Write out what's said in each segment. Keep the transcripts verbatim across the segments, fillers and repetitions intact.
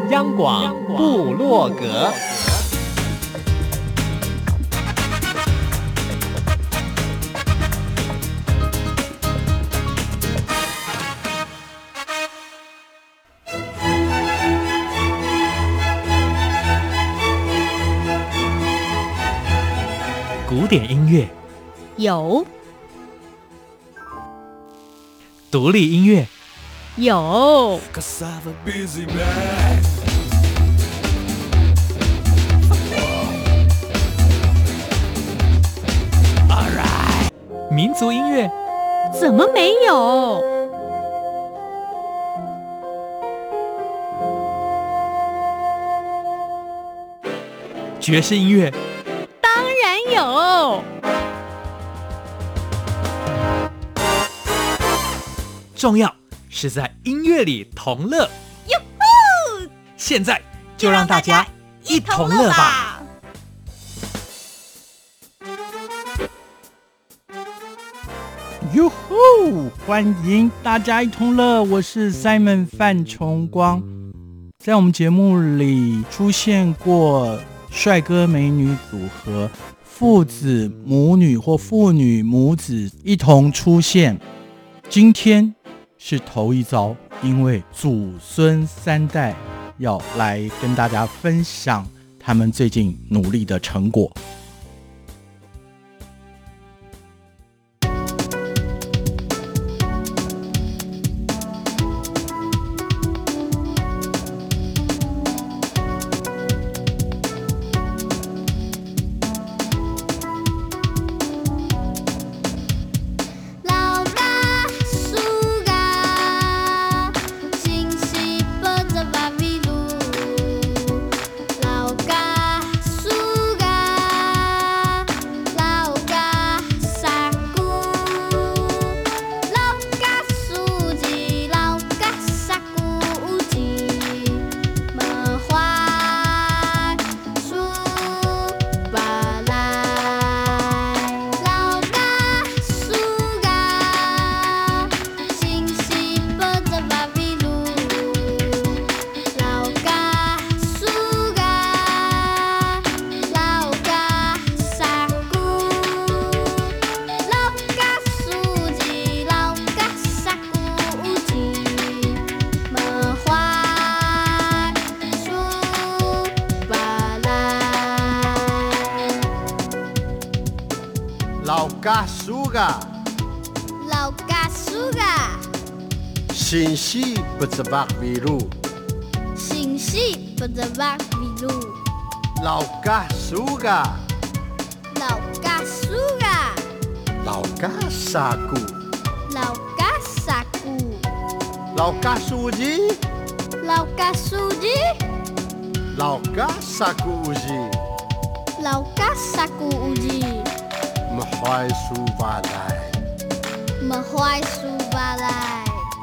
央广部落格。古典音乐有， 独立音乐有， 民族音乐怎么没有？ 爵士音乐当然有。 重要是在音乐里同乐。 哟呼！ 现在就让大家一同乐吧。 哟吼！欢迎大家一同乐，我是 Simon 范崇光。在我们节目里出现过帅哥美女组合、父子母女或父女母子一同出现。今天是头一遭，因为祖孙三代要来跟大家分享他们最近努力的成果。 老家苏嘎， 老家苏嘎， 新西不知白为路， 新西不知白为路， 老家苏嘎， 老家苏嘎， 老家沙古， 老家沙古， 老家苏吉， 老家苏吉， 老家沙古乌吉， 老家沙古乌吉。 么怀苏巴来， 么怀苏巴来，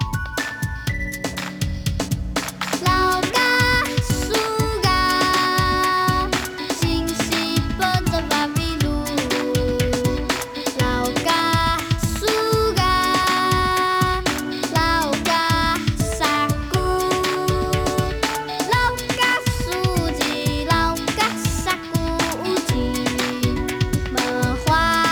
老家苏嘎，新西不知白为路，老家苏嘎，老家沙古，老家苏吉，老家沙古乌吉，么怀。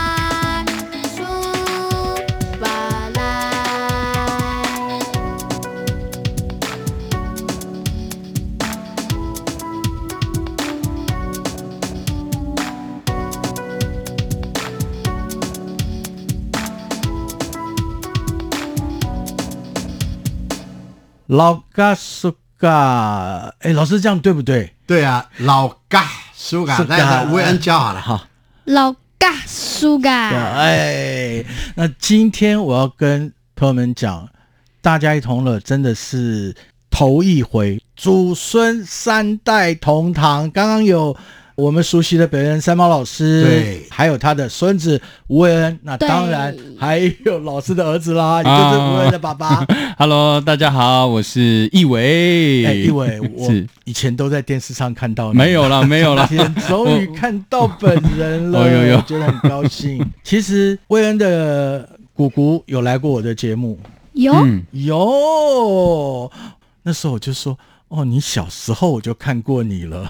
老家苏嘎，哎，老师这样对不对？ 对啊，老家苏嘎，那维恩教好了哈。 老家苏嘎， 哎，那今天我要跟朋友们讲，大家一同乐真的是头一回，祖孙三代同堂。刚刚有我们熟悉的北恩三毛老师， 对， 还有他的孙子吴伟恩，那当然还有老师的儿子啦，也就是吴伟恩的爸爸。 Hello， 大家好，我是易伟。 哎，易伟，我以前都在电视上看到你， 没有了，没有了， 今天终于看到本人了， 哦有有我觉得很高兴。其实魏恩的姑姑有来过我的节目， 有、 嗯、 有，那时候我就说。 哦，你小时候我就看过你了。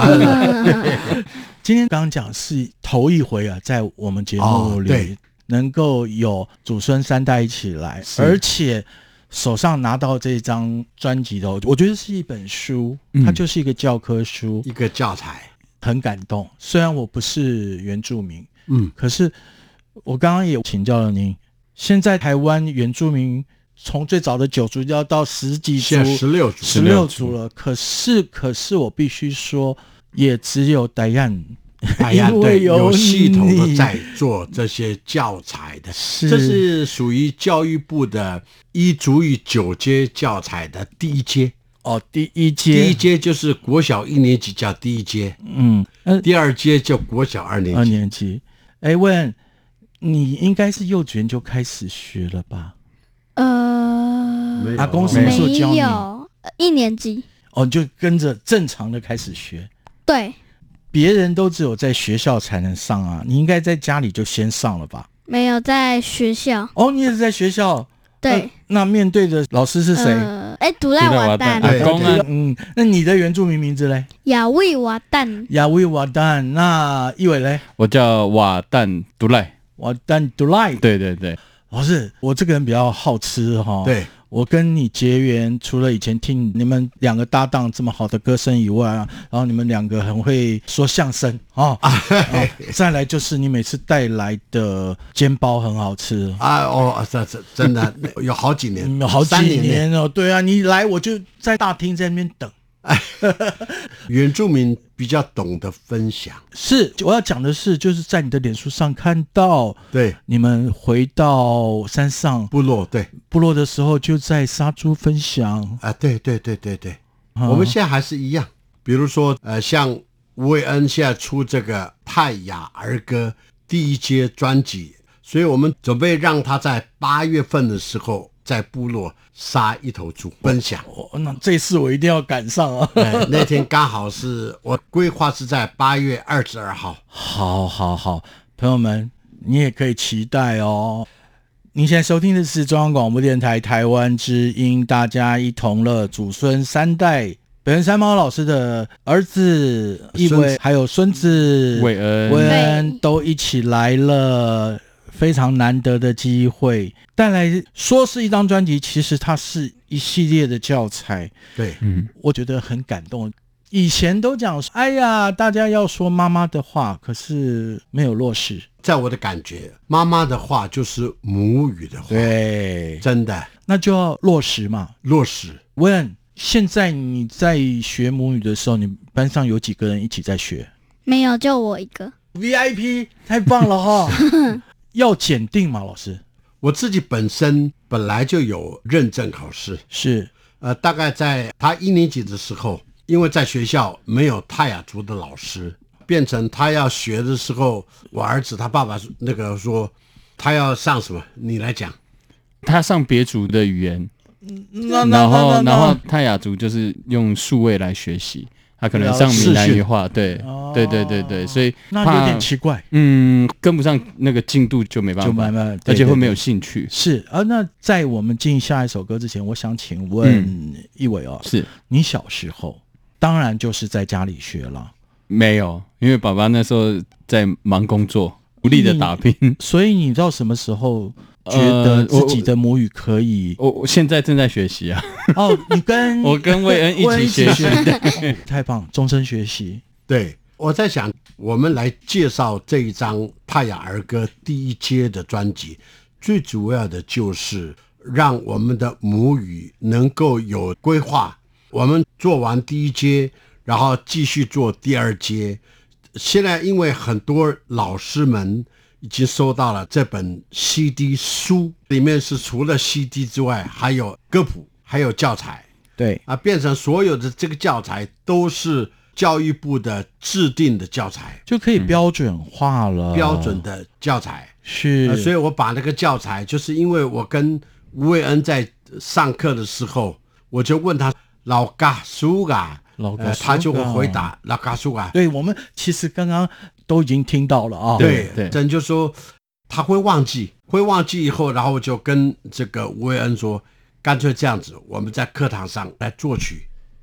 今天刚刚讲是头一回啊，在我们节目里、 哦、 能够有祖孙三代一起来，而且手上拿到这张专辑的，我觉得是一本书，它就是一个教科书， 一个教材， 很感动。虽然我不是原住民， 嗯， 可是我刚刚也请教了您，现在台湾原住民从最早的九族要到十几族， 现在十六族， 十六族了。可是，可是我必须说，也只有戴安， 戴安对有有系统的在做这些教材的， 是这是属于教育部的一族语九阶教材的第一阶。 哦，第一阶， 第一阶就是国小一年级叫第一阶， 嗯，呃、 第二阶叫国小二年级。 二年级，哎，问你应该是幼稚园就开始学了吧？ 呃， 阿公什么时候教你？ 没有，一年级。 哦，就跟着正常的开始学。 对， 别人都只有在学校才能上啊，你应该在家里就先上了吧？ 没有在学校。 哦，你也是在学校。 对、 呃，那面对的老师是谁？ 呃，哎，独赖瓦旦， 阿公啊， 嗯，那你的原住民名字嘞？ 亚维瓦旦， 亚维瓦旦。那一伟嘞？ 我叫瓦旦独赖， 瓦旦独赖。 对对对， 老师，我这个人比较好吃哈、哦。 对。 我跟你结缘，除了以前听你们两个搭档这么好的歌声以外啊，然后你们两个很会说相声啊、哦哦，再来就是你每次带来的煎包很好吃啊哦，这这真的有好几年， 嗯、有好几年哦，对啊，你来我就在大厅在那边等。 原住民比较懂得分享， 是我要讲的是，就是在你的脸书上看到， 对， 你们回到山上部落，对部落的时候就在杀猪分享啊，对对对对对、 嗯， 我们现在还是一样，比如说呃，像吴伟恩现在出这个泰雅儿歌第一阶专辑，所以我们准备让他在八月份的时候在部落杀一头猪分享、 哦、那这次我一定要赶上啊、 哎、那天刚好是我规划是在八月二十二号。 好好好，朋友们你也可以期待哦。您现在收听的是中央广播电台台湾之音，大家一同乐，祖孙三代，北原山猫老师的儿子一伟还有孙子伟恩伟恩都一起来了，非常难得的机会，带来说是一张专辑，其实它是一系列的教材。 对， 嗯， 我觉得很感动。以前都讲，哎呀，大家要说妈妈的话，可是没有落实。 在我的感觉，妈妈的话就是母语的话， 对， 真的， 那就要落实嘛。 落实。 问，现在你在学母语的时候，你班上有几个人一起在学？ 没有，就我一个。 V I P 太棒了哈！要检定吗，老师？ 我自己本身本来就有认证考试， 是， 呃，大概在他一年级的时候，因为在学校没有泰雅族的老师，变成他要学的时候，我儿子他爸爸那个说他要上什么，你来讲。 他上别族的语言， 那然后然后泰雅族就是用数位来学习。他可能上闽南语话，对、哦、对对对对，所以那有点奇怪， 嗯，跟不上那个进度就没办法， 就慢慢， 而且会没有兴趣。 是啊，那在我们进下一首歌之前，我想请问一伟哦， 是你小时候当然就是在家里学了， 没有，因为爸爸那时候在忙工作，努力的打拼， 所以你到什么时候觉得自己的母语可以？ 呃、我我现在正在学习啊。 哦，你跟我跟魏恩一起学习， 哦、太棒，终身学习。 对，我在想，我们来介绍这一张泰雅儿歌第一阶的专辑，最主要的就是让我们的母语能够有规划。我们做完第一阶，然后继续做第二阶。现在因为很多老师们已经收到了这本 C D 书，里面是除了 C D 之外，还有歌谱，还有教材。 对啊，变成所有的这个教材都是教育部的制定的教材， 就可以标准化了。嗯、 标准的教材是、 呃，所以我把那个教材，就是因为我跟吴伟恩在上课的时候，我就问他老嘎苏嘎。 老呃、他就会回答老嘎苏嘎。 对，我们其实刚刚都已经听到了啊。 对对， 真就说他会忘记，会忘记以后，然后就跟这个吴伟恩说，干脆这样子，我们在课堂上来作曲，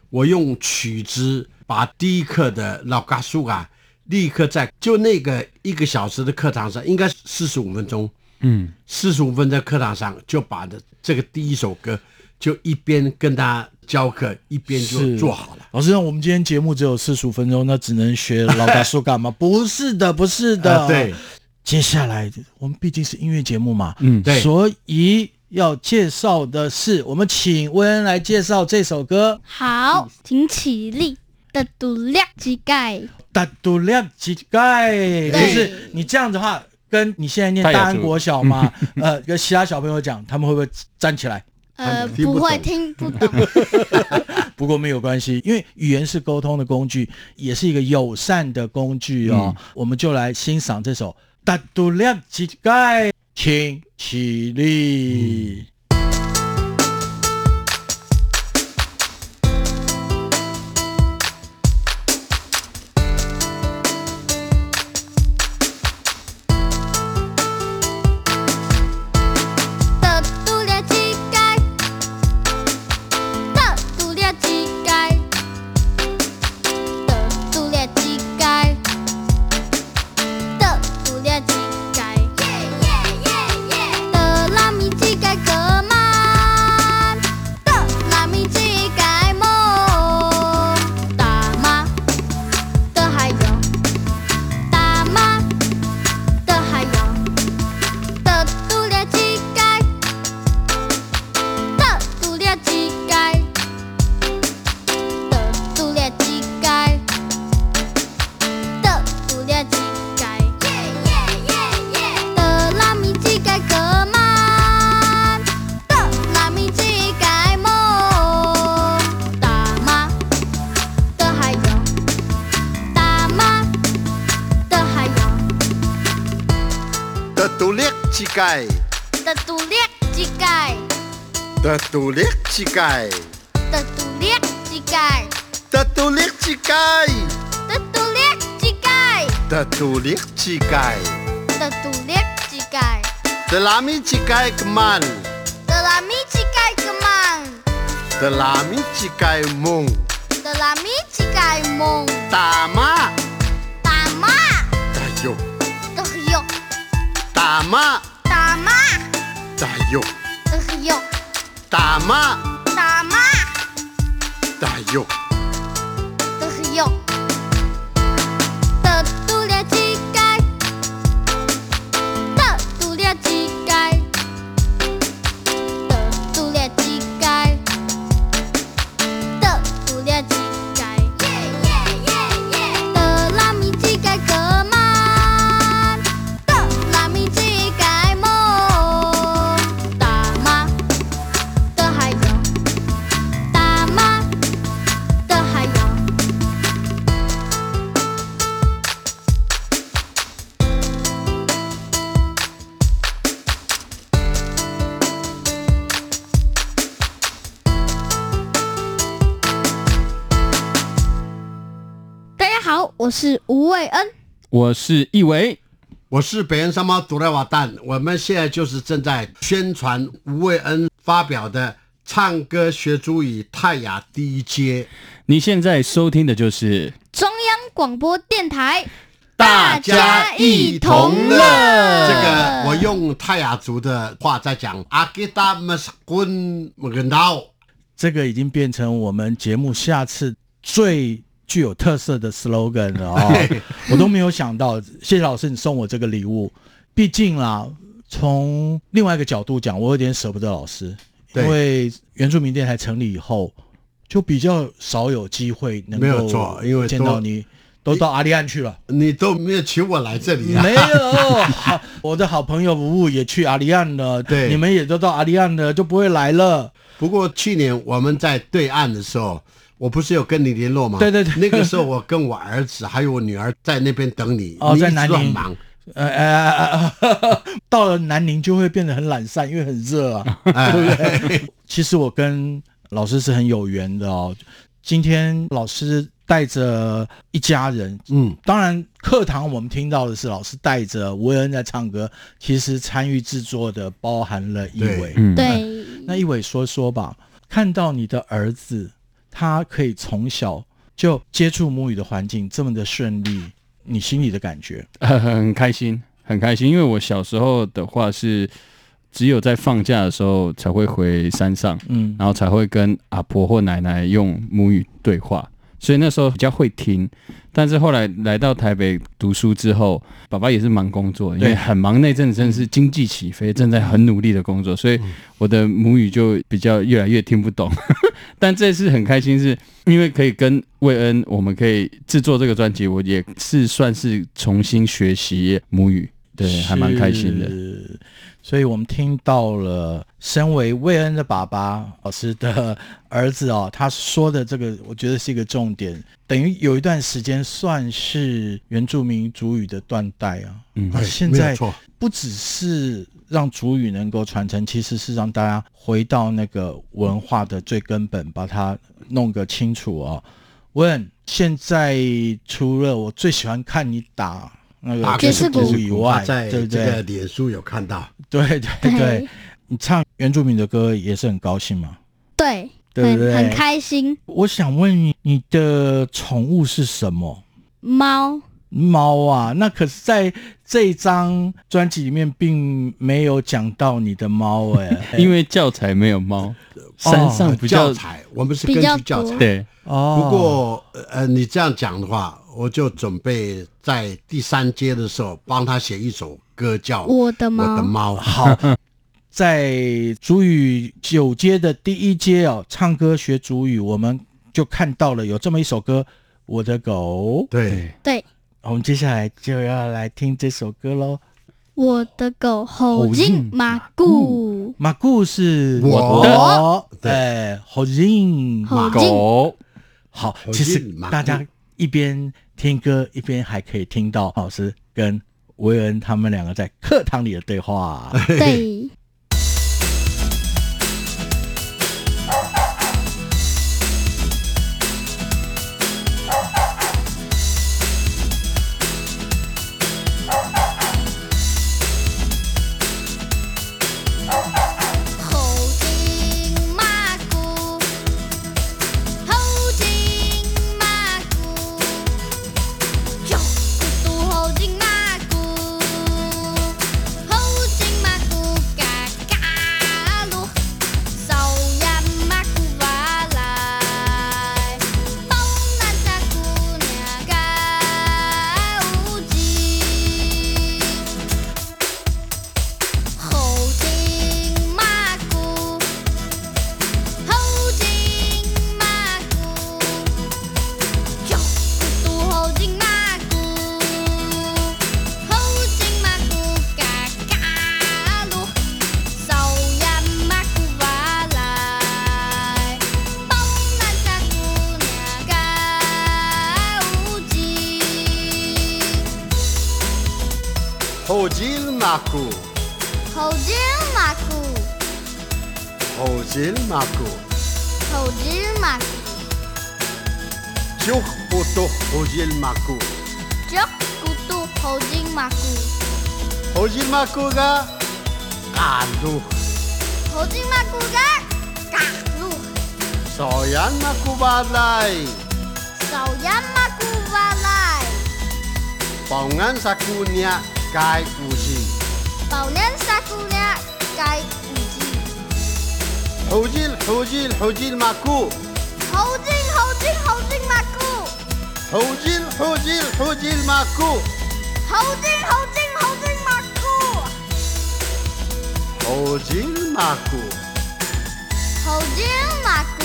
我用曲子把第一课的老嘎苏啊，立刻在就那个一个小时的课堂上，应该四十五分钟， 嗯， 四十五分在课堂上就把的这个第一首歌就一边跟他教课，一边就做好了。 老师，我们今天节目只有四十五分钟，那只能学老大叔干嘛？不是的，不是的。 呃、对， 接下来我们毕竟是音乐节目嘛， 嗯， 对， 所以要介绍的是，我们请薇恩来介绍这首歌。 好，请起立。的度量机盖， 的度量机盖，就是你这样子的话，跟你现在念大安国小嘛，呃，跟其他小朋友讲，他们会不会站起来？ 呃，不会听不懂。 不过没有关系，因为语言是沟通的工具，也是一个友善的工具哦。嗯、我们就来欣赏这首《的度量机盖》，请起立。嗯乞丐的独立乞丐的独立乞丐的独立乞丐的独立乞丐的独立乞丐的独立乞丐的独立乞丐的拉米乞丐 keman 的拉米乞丐 keman 的拉米乞丐梦的拉米乞丐梦大妈大妈大哟的哟大妈大妈大哟的哟大妈大妈大哟的哟的独立乞丐的独立乞丐的独立乞丐的独立乞丐的拉米乞丐可曼的拉米乞丐梦大妈的还有大妈的还有大家好，我是吴伟恩， 我是易伟， 我是北恩山猫独来瓦蛋。我们现在就是正在宣传吴伟恩发表的唱歌学族语泰雅第一阶。 你现在收听的就是中央广播电台， 大家一同乐。 乐这个我用泰雅族的话在讲，阿吉达姆斯滚门道。 这个已经变成我们节目下次最具有特色的 slogan 了哦。我都没有想到，谢谢老师你送我这个礼物。毕竟啦，从另外一个角度讲，我有点舍不得老师，因为原住民电台成立以后，就比较少有机会能够没有错，因为见到你。都到阿里安去了， 你都没有请我来这里啊？ 没有，我的好朋友吴吴也去阿里安了， 对， 你们也都到阿里安了，就不会来了。 不过去年我们在对岸的时候，我不是有跟你联络吗？ 对对对， 那个时候我跟我儿子还有我女儿在那边等你， 哦， 你在南宁忙。 呃呃呃，到了南宁就会变得很懒散，因为很热啊， 哎、 对不对？其实我跟老师是很有缘的哦。今天老师带着一家人， 嗯， 当然课堂我们听到的是老师带着吴恩在唱歌，其实参与制作的包含了一伟， 嗯、 对， 那一伟说说吧，看到你的儿子他可以从小就接触母语的环境这么的顺利，你心里的感觉？ 呃、很开心，很开心，因为我小时候的话是只有在放假的时候才会回山上，嗯，然后才会跟阿婆或奶奶用母语对话，所以那时候比较会听。但是后来来到台北读书之后，爸爸也是忙工作，因为很忙，那阵子真的是经济起飞，正在很努力的工作，所以我的母语就比较越来越听不懂。但这次很开心，是因为可以跟魏恩，我们可以制作这个专辑，我也是算是重新学习母语，对，还蛮开心的。 所以我们听到了身为魏恩的爸爸老师的儿子哦，他说的这个我觉得是一个重点，等于有一段时间算是原住民族语的断代啊。嗯，现在不只是让族语能够传承，其实是让大家回到那个文化的最根本，把它弄个清楚哦。问，现在除了我最喜欢看你打那个爵士鼓以外， 在这个脸书有看到， 对对 对, 对，你唱原住民的歌也是很高兴吗？ 对， 对不对？ 很, 很开心。 我想问你，你的宠物是什么？ 猫。 猫啊，那可是在这一张专辑里面并没有讲到你的猫哎、欸， 因为教材没有猫，山上比较、 哦、教材，我们是根据教材。 对， 哦。 不过呃，你这样讲的话，我就准备在第三阶的时候帮他写一首歌，叫《 我的猫》。 我的猫。 好，在族语九阶的第一阶哦，唱歌学族语，我们就看到了有这么一首歌，《我的狗》。 对对。 我们接下来就要来听这首歌咯。 我的狗吼进马固， 马固是我的，对，吼进马狗。好，其实大家一边听歌一边还可以听到老师跟维恩他们两个在课堂里的对话。 对。 吼进马固， 吼进马固， 吼进马固， 吼进马固， 就不都吼进马固， 就不都吼进马固， 吼进马固个嘎路， 吼进马固个嘎路， 少yan马固巴来， 少yan马固巴来， 保安萨库尼亚。该五级， 保年萨姑娘该五级， 吼进吼进吼进马固， 吼进吼进吼进马固， 吼进吼进吼进马固， 吼进吼进吼进马固， 吼进马固， 吼进马固。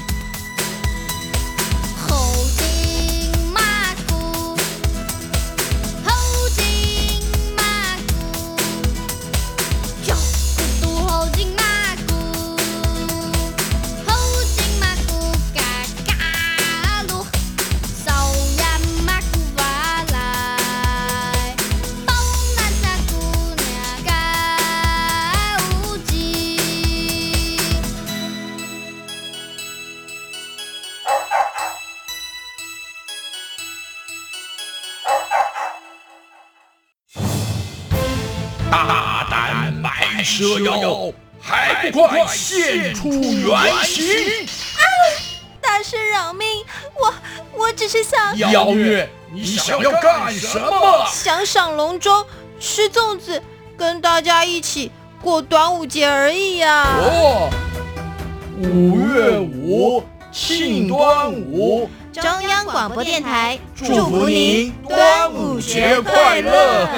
大胆买蛇妖，还不快现出原形！ 啊！但是饶命，我我只是想妖月，你想要干什么？ 想赏龙舟，吃粽子，跟大家一起过端午节而已呀、啊。 哦，五月五庆端午， 中央广播电台祝福您端午节快乐。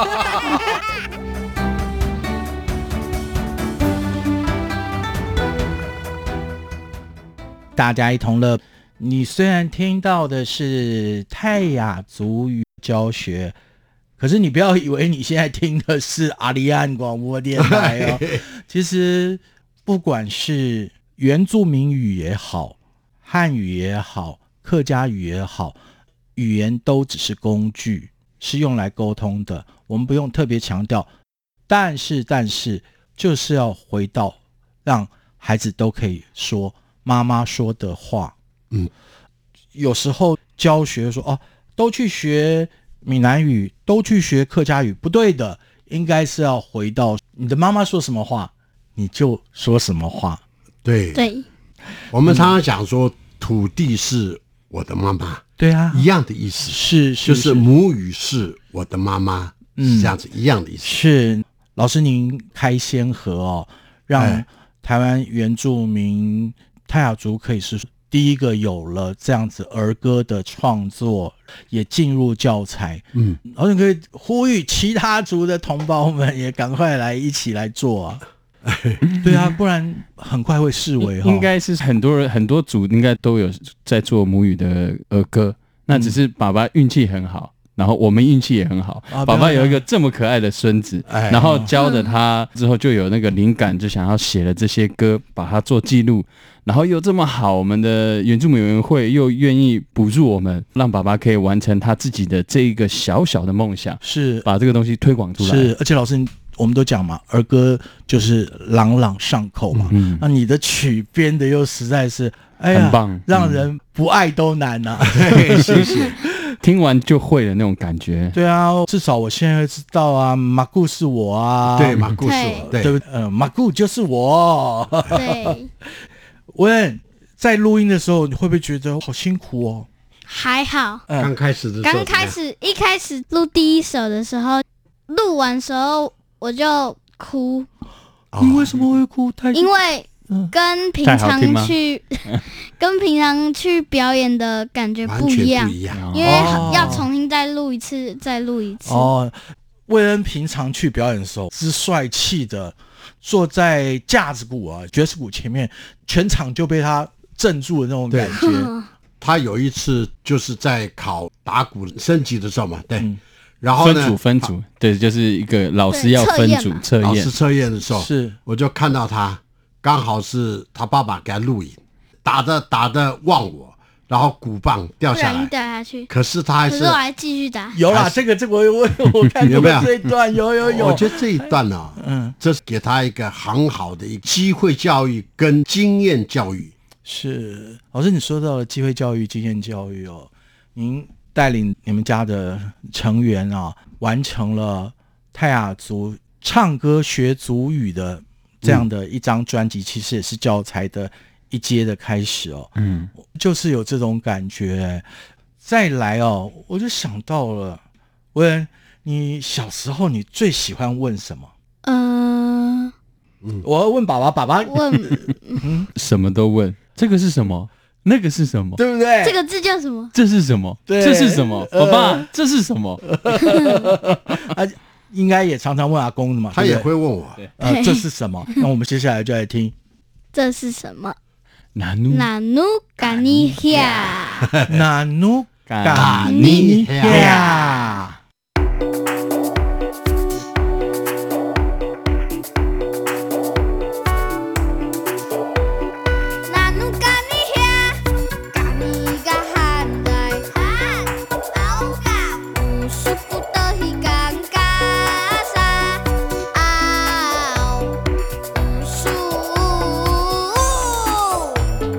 大家一同乐。你虽然听到的是泰雅族语教学，可是你不要以为你现在听的是阿里安广播电台哦。其实不管是原住民语也好，汉语也好，客家语也好，语言都只是工具，是用来沟通的，我们不用特别强调。但是但是就是要回到让孩子都可以说妈妈说的话。 嗯， 有时候教学说哦，都去学闽南语，都去学客家语，不对的，应该是要回到你的妈妈说什么话，你就说什么话。 对对， 我们常常讲说，土地是我的妈妈， 对啊， 一样的意思， 是是就是母语是我的妈妈， 嗯， 是这样子一样的意思。 是老师您开先河哦，让台湾原住民泰雅族可以是第一个有了这样子儿歌的创作，也进入教材。 嗯， 老师可以呼吁其他族的同胞们也赶快来一起来做啊。对啊，不然很快会式微。 应该是很多人很多族应该都有在做母语的儿歌，那只是爸爸运气很好，然后我们运气也很好， 啊、 爸爸有一个这么可爱的孙子， 哎、 然后教着他之后就有那个灵感，就想要写了这些歌，把它做记录，然后又这么好，我们的原住民委员会又愿意补助我们，让爸爸可以完成他自己的这一个小小的梦想， 是把这个东西推广出来。 是，而且老师我们都讲嘛，儿歌就是朗朗上口嘛，嗯，那你的曲编的又实在是，哎呀， 很棒， 让人不爱都难啊。 嗯、谢谢。 听完就会的那种感觉。 对啊，至少我现在知道啊，马固是我啊， 对，马固是我，对， 对不对？呃，马固就是我。 对。 问，在录音的时候，你会不会觉得好辛苦哦？ 还好， 嗯、刚开始的时候， 刚开始一开始录第一首的时候，录完时候我就哭。 哦、你为什么会哭？太因为跟平常去跟平常去表演的感觉不一样， 不一样， 因为要重新再录一次，再录一次。 哦，魏恩平常去表演的时候是帅气的，坐在架子鼓啊、爵士鼓前面，全场就被他镇住的那种感觉。 他有一次就是在考打鼓升级的时候嘛，对。嗯，然后呢， 分组分组，对，就是一个老师要分组测验， 老师测验的时候， 是我就看到他，刚好是他爸爸给他录影，打的打的忘我，然后鼓棒掉下来， 掉下去。 可是他还是， 可是我还继续打。 有啦，这个这个我我我看过这一段，有有有。 我觉得这一段呢、啊，嗯，这是给他一个很好的一个机会教育跟经验教育。 是老师，你说到了机会教育、经验教育哦，您带领你们家的成员啊，完成了泰雅族唱歌学族语的这样的一张专辑，嗯、其实也是教材的一阶的开始哦。嗯，就是有这种感觉。再来哦，我就想到了，问你小时候你最喜欢问什么？嗯、呃，我要问爸爸，爸爸问， 嗯，什么都问。这个是什么？那个是什么？ 对不对？ 这个字叫什么？ 这是什么？这是什么？爸爸，呃、这是什么？ 他应该也常常问阿公的嘛， 他也会问我， 呃，这是什么？那我们接下来就来听， 这是什么？ 哪努哪努嘎尼亚， 哪努嘎尼亚。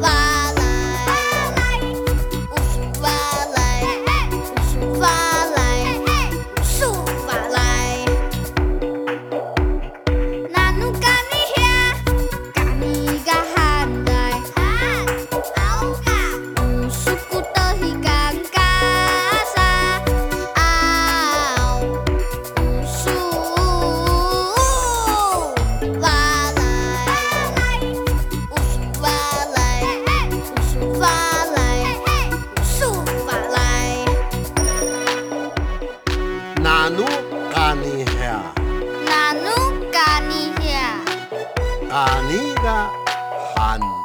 发来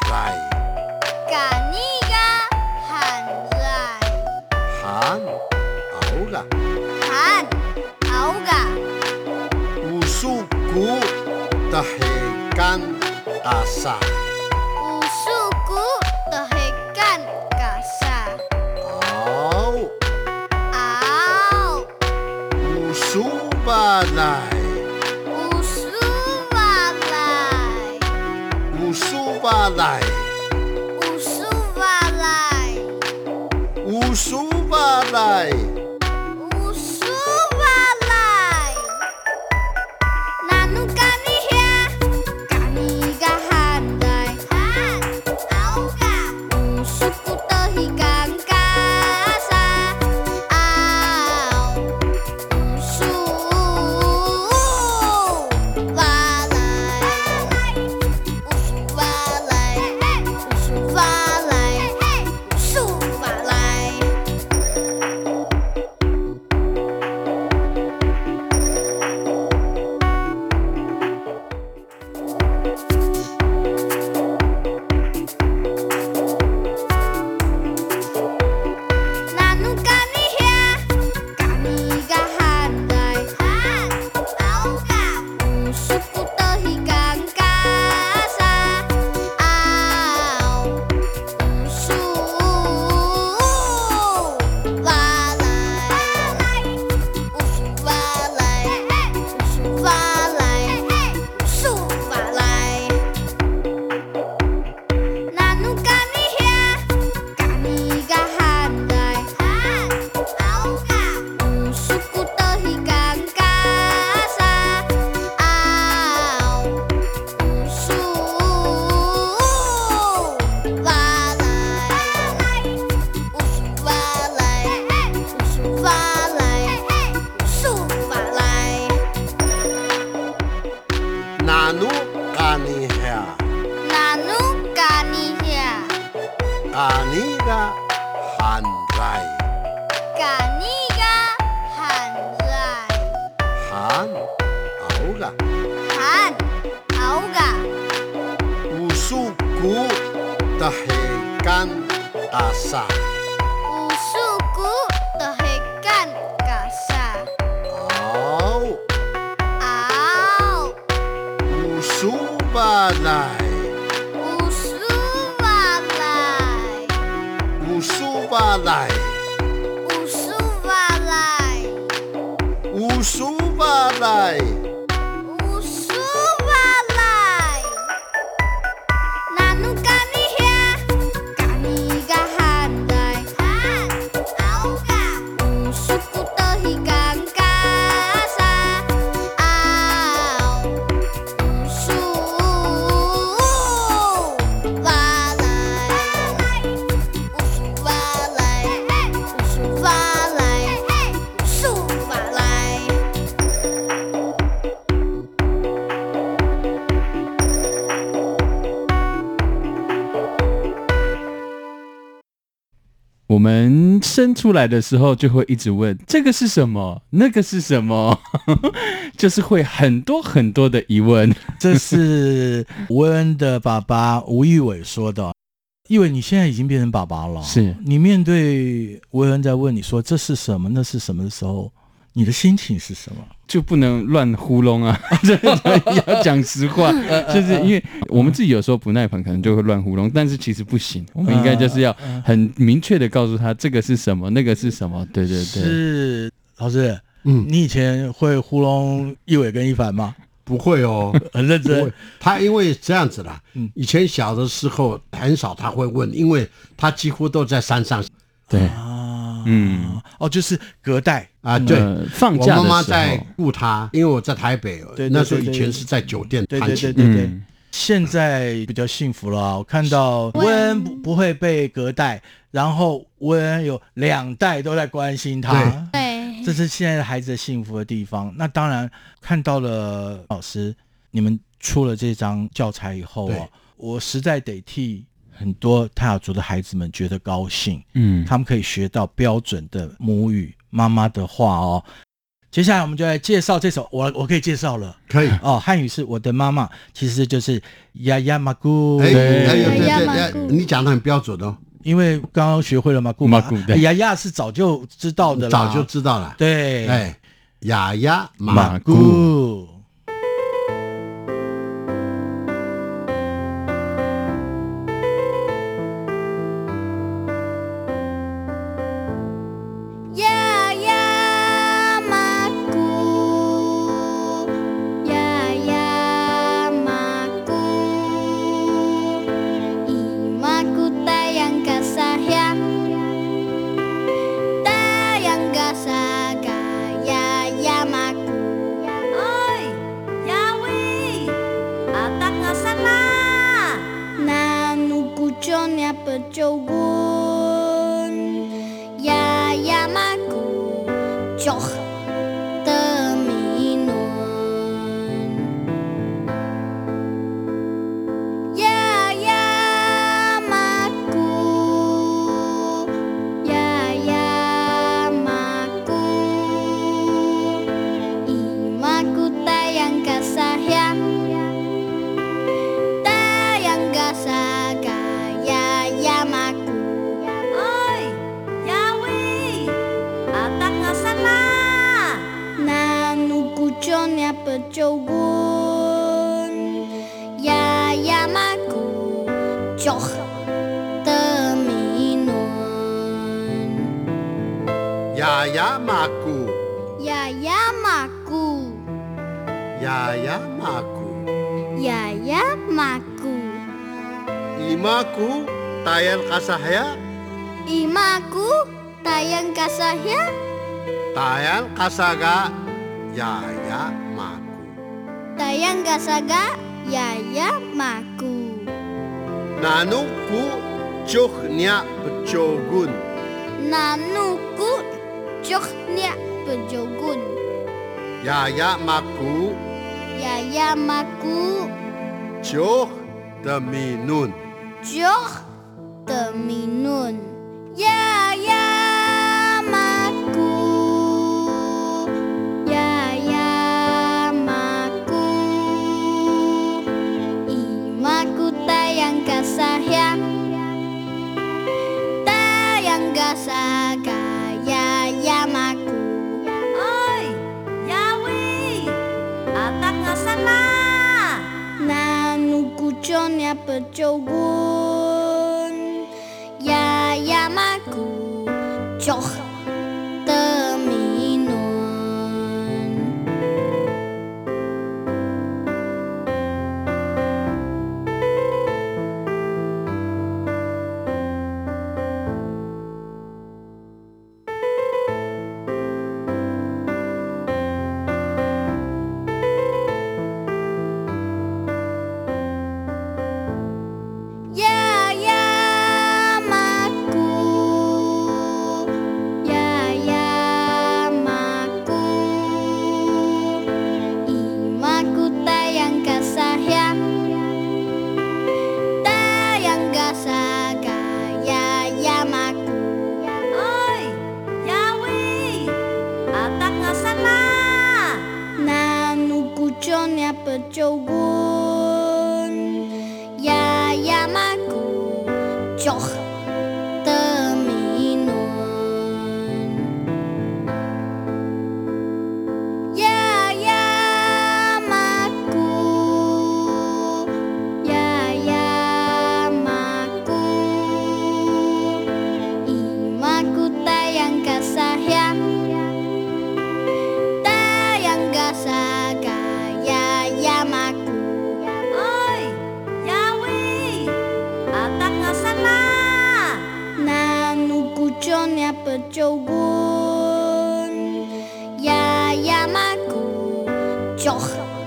来， 嘎尼嘎喊来， 喊熬个， 喊熬嘎， 无数股的黑干大沙， 无数股的黑干嘎沙， 熬熬无数把来， 无数瓦来， 无数把来， 无数瓦来， 无数把来， 无数瓦来，那努嘎尼呀，嘎尼嘎喊来，喊熬嘎，无数股的黑干嘎沙，熬无数瓦来，无数瓦来，无数瓦来，无数瓦来。那努嘎尼呀，嘎尼嘎喊来，喊熬嘎，无数股的黑干嘎沙，熬无数瓦来，无数瓦来，无数瓦来，无数瓦来。那努嘎尼呀，嘎尼嘎喊来，喊熬嘎，无数股的黑干嘎沙，熬无数瓦来，无数瓦来，无数瓦来，无数瓦来。 那努嘎尼呀， 那努嘎尼呀， 嘎尼个喊来， 嘎尼嘎喊来， 喊熬个， 喊熬嘎， 无数股的黑干大沙， 无数股的黑干嘎沙， 熬熬无数把来， 无数瓦来， 无数把来， 无数瓦来， 无数把来， 无数瓦来。那努嘎尼呀，嘎尼嘎喊来，喊熬嘎，无数股的黑干嘎沙，熬无数瓦来，无数瓦来，无数瓦来，无数瓦来。 我们生出来的时候就会一直问这个是什么，那个是什么，就是会很多很多的疑问。 这是吴恩的爸爸吴玉伟说的。玉伟，你现在已经变成爸爸了， 是你面对吴恩在问你说这是什么，那是什么的时候，你的心情是什么？ 就不能乱糊弄啊，要讲实话，就是因为我们自己有时候不耐烦，可能就会乱糊弄，但是其实不行，我们应该就是要很明确的告诉他这个是什么，那个是什么。对对对， 是老师， 嗯， 你以前会糊弄一伟跟一凡吗？ 不会哦， 很认真。 他因为这样子啦， 嗯以前小的时候很少他会问，因为他几乎都在山上。 对啊， 嗯， 哦，就是隔代啊，对， 呃放我假的时候妈妈在顾他，因为我在台北， 对对对那时候以前是在酒店对对弹琴对，对对。 嗯现在比较幸福了啊，我看到温恩不不会被隔代，然后温恩有两代都在关心他， 对， 这是现在的孩子的幸福的地方。那当然看到了老师你们出了这张教材以后哦，我实在得替很多泰雅族的孩子们觉得高兴， 嗯， 他们可以学到标准的母语妈妈的话哦。 接下来我们就来介绍这首，我我可以介绍了， 可以哦。汉语是我的妈妈，其实就是呀呀马姑。 哎哎呦对呀呀对对，你讲的很标准哦。 因为刚刚学会了马姑嘛，呀呀是早就知道的啦， 早就知道了。 对， 哎，呀呀马姑。 呀呀马姑， 呀呀马姑， 呀呀马姑， 呀呀马姑。 Imaku tayang kasahya, Imaku tayang kasahya, tayang kasaga, ya ya maku. tayang kasaga, ya ya maku. Nanuku cuhnya pecogun, Nanuku cuhnya pejogun, ya ya maku, ya ya maku. cuh demi nun. Joh demi nun. Ya ya maku, ya ya maku. Imaku tayang kasahya, tayang kasaga, ya ya maku. Oi, Yawi, atak ngasana. Nanuku connya pecogun, ya ya maku, coh demi nun. Ya ya maku, ya ya maku. Imaku tayang kasahya, tayang kasaga, ya ya maku. Oi, Yawi, atak ngasana. Nanuku connya pecogun, ya ya maku, coh demi nun. Ya ya maku, ya ya maku. Imaku tayang kasahya, tayang kasaga, ya ya maku. Oi, Yawi, atak ngasana. Nanuku connya pecogun, ya ya maku, coh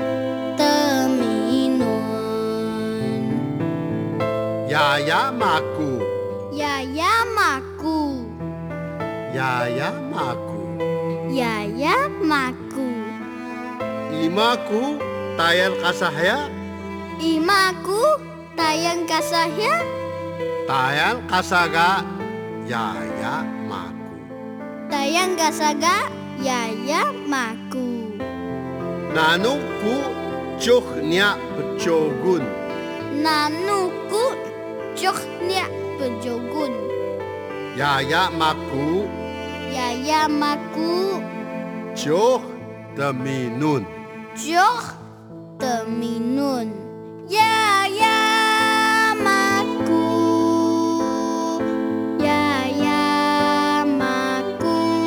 demi nun. Ya ya maku, Ya ya maku, ya ya maku. ya ya maku. Imaku tayang kasahya, Imaku tayang kasahya, tayang kasaga, ya ya maku. tayang kasaga, 呀呀马古， 那努古就伢不就滚， 那努古就伢不就滚， 呀呀马古呀呀马古就的米nun， 就的米nun，呀呀马古，呀呀马古，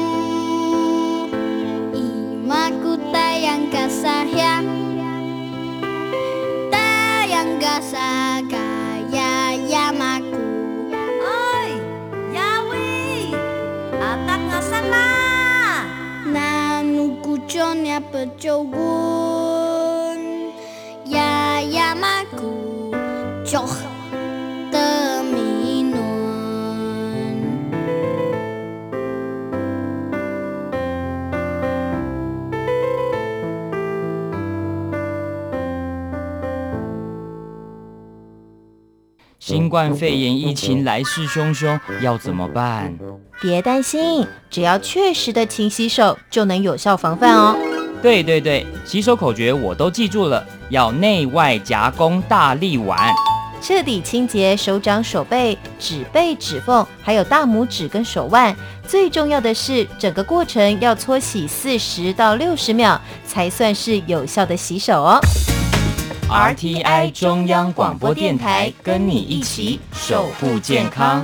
伊马古太阳嘎萨呀，太阳嘎萨嘎呀呀马古。 哎，呀喂，阿达阿萨啦， 那努古就那不就滚，呀呀马古就的米nun。 新冠肺炎疫情来势汹汹，要怎么办？ 别担心，只要确实的勤洗手，就能有效防范哦。 对对对，洗手口诀我都记住了，要内外夹攻大力丸， 彻底清洁手掌、手背、指背、指缝，还有大拇指跟手腕。最重要的是，整个过程要搓洗四十到六十秒，才算是有效的洗手哦。 R T I 中央广播电台，跟你一起守护健康。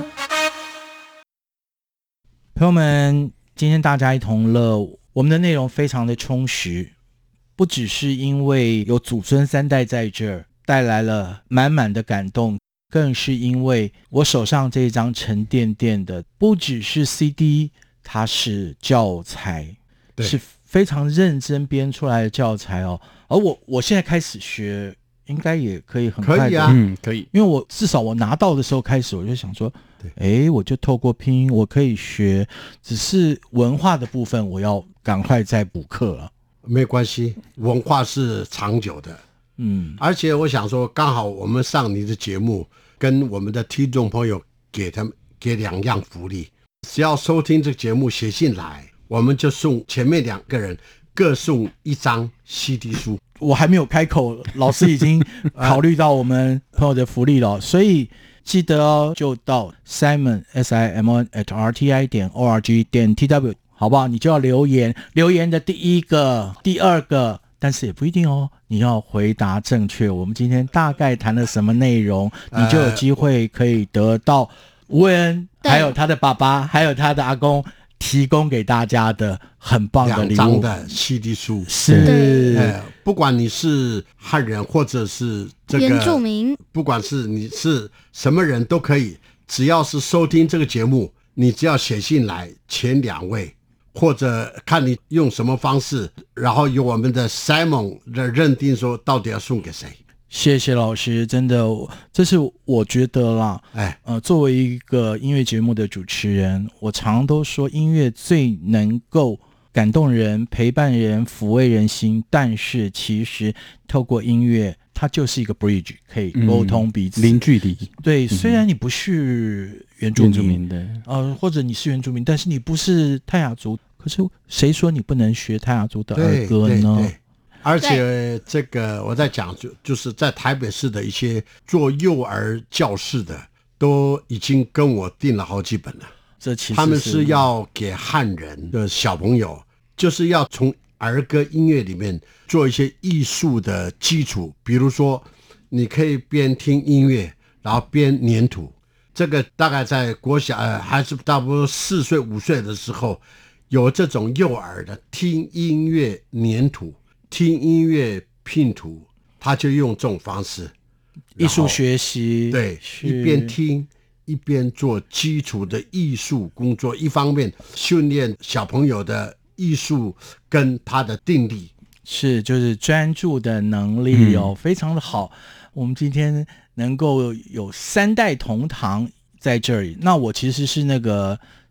朋友们，今天大家一同乐，我们的内容非常的充实，不只是因为有祖孙三代在这儿带来了满满的感动，更是因为我手上这张沉甸甸的不只是 C D， 它是教材，是非常认真编出来的教材哦。而我我现在开始学，应该也可以很快的， 可以啊， 嗯，可以， 因为我至少我拿到的时候开始，我就想说，哎，我就透过拼音我可以学，只是文化的部分我要赶快再补课了。 没关系，文化是长久的， 嗯， 而且我想说，刚好我们上你的节目，跟我们的听众朋友给他们给两样福利，只要收听这个节目写信来，我们就送前面两个人各送一张 C D 书。 我还没有开口，老师已经考虑到我们朋友的福利了，所以记得哦，就到 Simon S I M O N at R T I 点 O R G 点 T W， 好不好？你就要留言，留言的第一个、第二个，但是也不一定哦，你要回答正确。我们今天大概谈了什么内容，你就有机会可以得到吴伟恩还有他的爸爸还有他的阿公提供给大家的很棒的礼物， 两张的 C D 书， 是、 呃，不管你是汉人或者是这个原住民， 不管是你是什么人都可以，只要是收听这个节目，你只要写信来前两位，或者看你用什么方式，然后由我们的 Simon 的认定说到底要送给谁。 谢谢老师，真的，这是我觉得啦， 哎， 呃，作为一个音乐节目的主持人，我常都说音乐最能够感动人、陪伴人、抚慰人心，但是其实透过音乐，它就是一个 bridge， 可以沟通彼此， 嗯、零距离。 对，虽然你不是原住民， 原住民的， 呃，或者你是原住民，但是你不是泰雅族，可是谁说你不能学泰雅族的儿歌呢？ 对对对，而且这个我在讲，就就是在台北市的一些做幼儿教室的，都已经跟我订了好几本了。 这其实他们是要给汉人的小朋友，就是要从儿歌音乐里面做一些艺术的基础，比如说你可以边听音乐，然后边粘土。这个大概在国小呃还是差不多四岁五岁的时候，有这种幼儿的听音乐粘土。听音乐拼图，他就用这种方式艺术学习， 对，一边听一边做基础的艺术工作，一方面训练小朋友的艺术跟他的定力， 是就是专注的能力哦， 嗯、 非常的好。我们今天能够有三代同堂在这里，那我其实是那个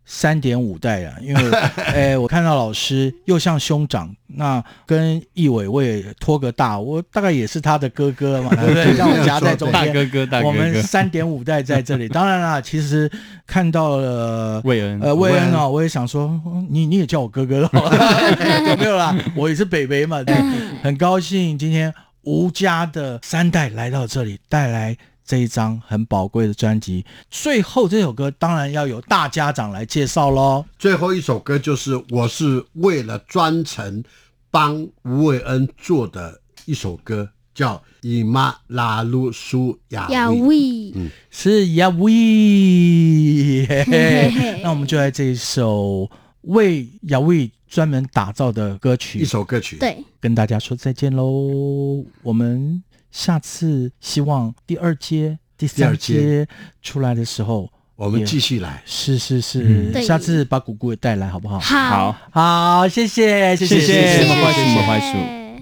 三点五代了，因为哎，我看到老师又像兄长，那跟义伟我也拖个大，我大概也是他的哥哥嘛，对不对？让我夹在中间， 大哥哥，大哥哥， 我们三点五代在这里。当然啦，其实看到了魏恩， 呃，魏恩哦，我也想说，你你也叫我哥哥了，有没有啦？我也是北北嘛，对，很高兴今天吴家的三代来到这里，带来这一张很宝贵的专辑。最后这首歌当然要由大家长来介绍咯。 最后一首歌就是我是为了专程帮吴伟恩做的一首歌，叫伊玛拉鲁苏亚亚威。 威， 嗯， 是亚威，嘿嘿，那我们就来这一首为亚威专门打造的歌曲， 一首歌曲， 对， 跟大家说再见喽。我们下次希望第二阶、第三阶出来的时候， 我们继续来。 是是是， 嗯、 下次把姑姑也带来好不好？ 好， 好，谢谢，谢谢， 谢谢， 谢莫坏莫坏鼠。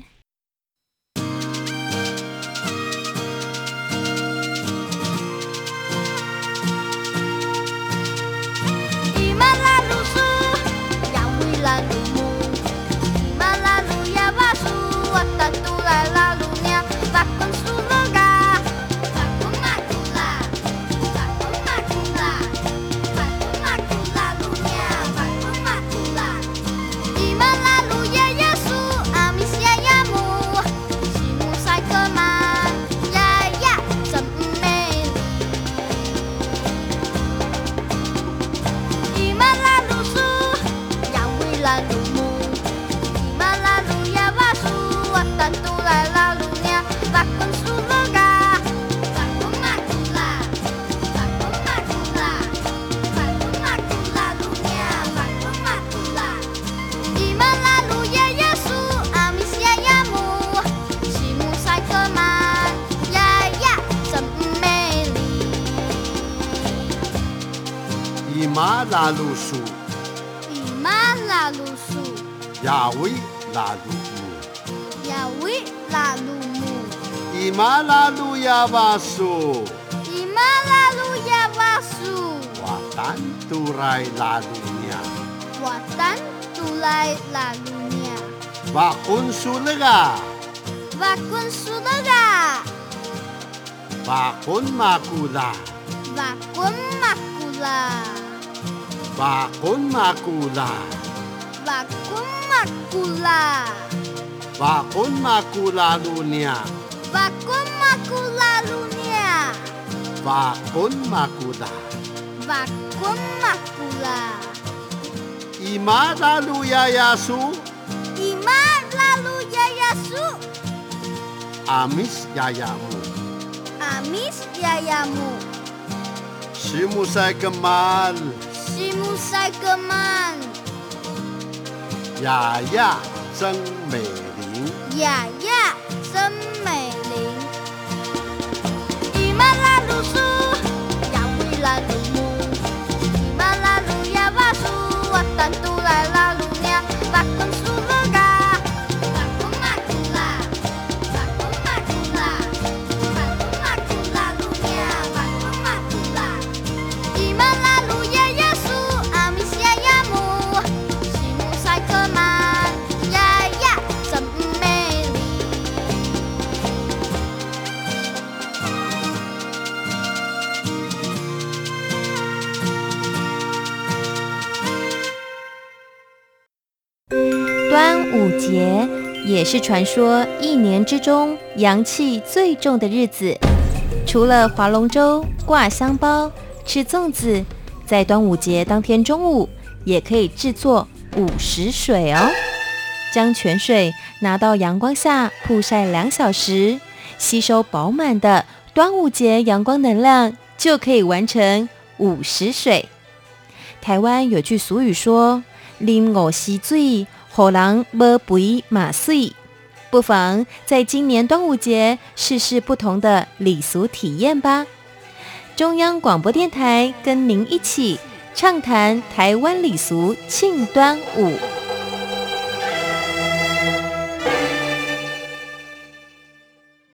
伊玛拉鲁苏， 伊玛拉鲁苏， 亚威拉鲁姆， 亚威拉鲁姆， 伊玛拉鲁亚瓦苏， 伊玛拉鲁亚瓦苏， 瓦丹杜来拉鲁尼亚， 瓦丹杜来拉鲁尼亚， 瓦昆苏勒嘎， 瓦昆苏勒嘎， 瓦昆马古拉， 瓦昆马古拉。 瓦昆马古拉， 瓦昆马古拉， 瓦昆马古拉鲁尼亚， 瓦昆马古拉鲁尼亚， 瓦昆马古拉， 瓦昆马古拉， 伊玛拉鲁亚亚苏， 伊玛拉鲁亚亚苏， 阿米斯亚亚姆， 阿米斯亚亚姆， 西姆塞格曼。 西姆塞格曼， 雅雅真美玲， 雅雅真美玲，伊玛拉鲁苏，亚威拉鲁姆，伊玛拉鲁亚瓦苏，瓦丹杜来拉鲁尼亚，瓦昆苏勒嘎，瓦昆马古拉，瓦昆马古拉，瓦昆马古拉鲁尼亚，瓦昆马古拉，伊玛拉鲁亚。 端午节也是传说一年之中阳气最重的日子，除了划龙舟、挂香包、吃粽子，在端午节当天中午也可以制作午时水哦。将泉水拿到阳光下曝晒两小时，吸收饱满的端午节阳光能量，就可以完成午时水。台湾有句俗语说：“啉午时水，予人无肥马水。”不妨在今年端午节试试不同的礼俗体验吧。中央广播电台跟您一起畅谈台湾礼俗庆端午。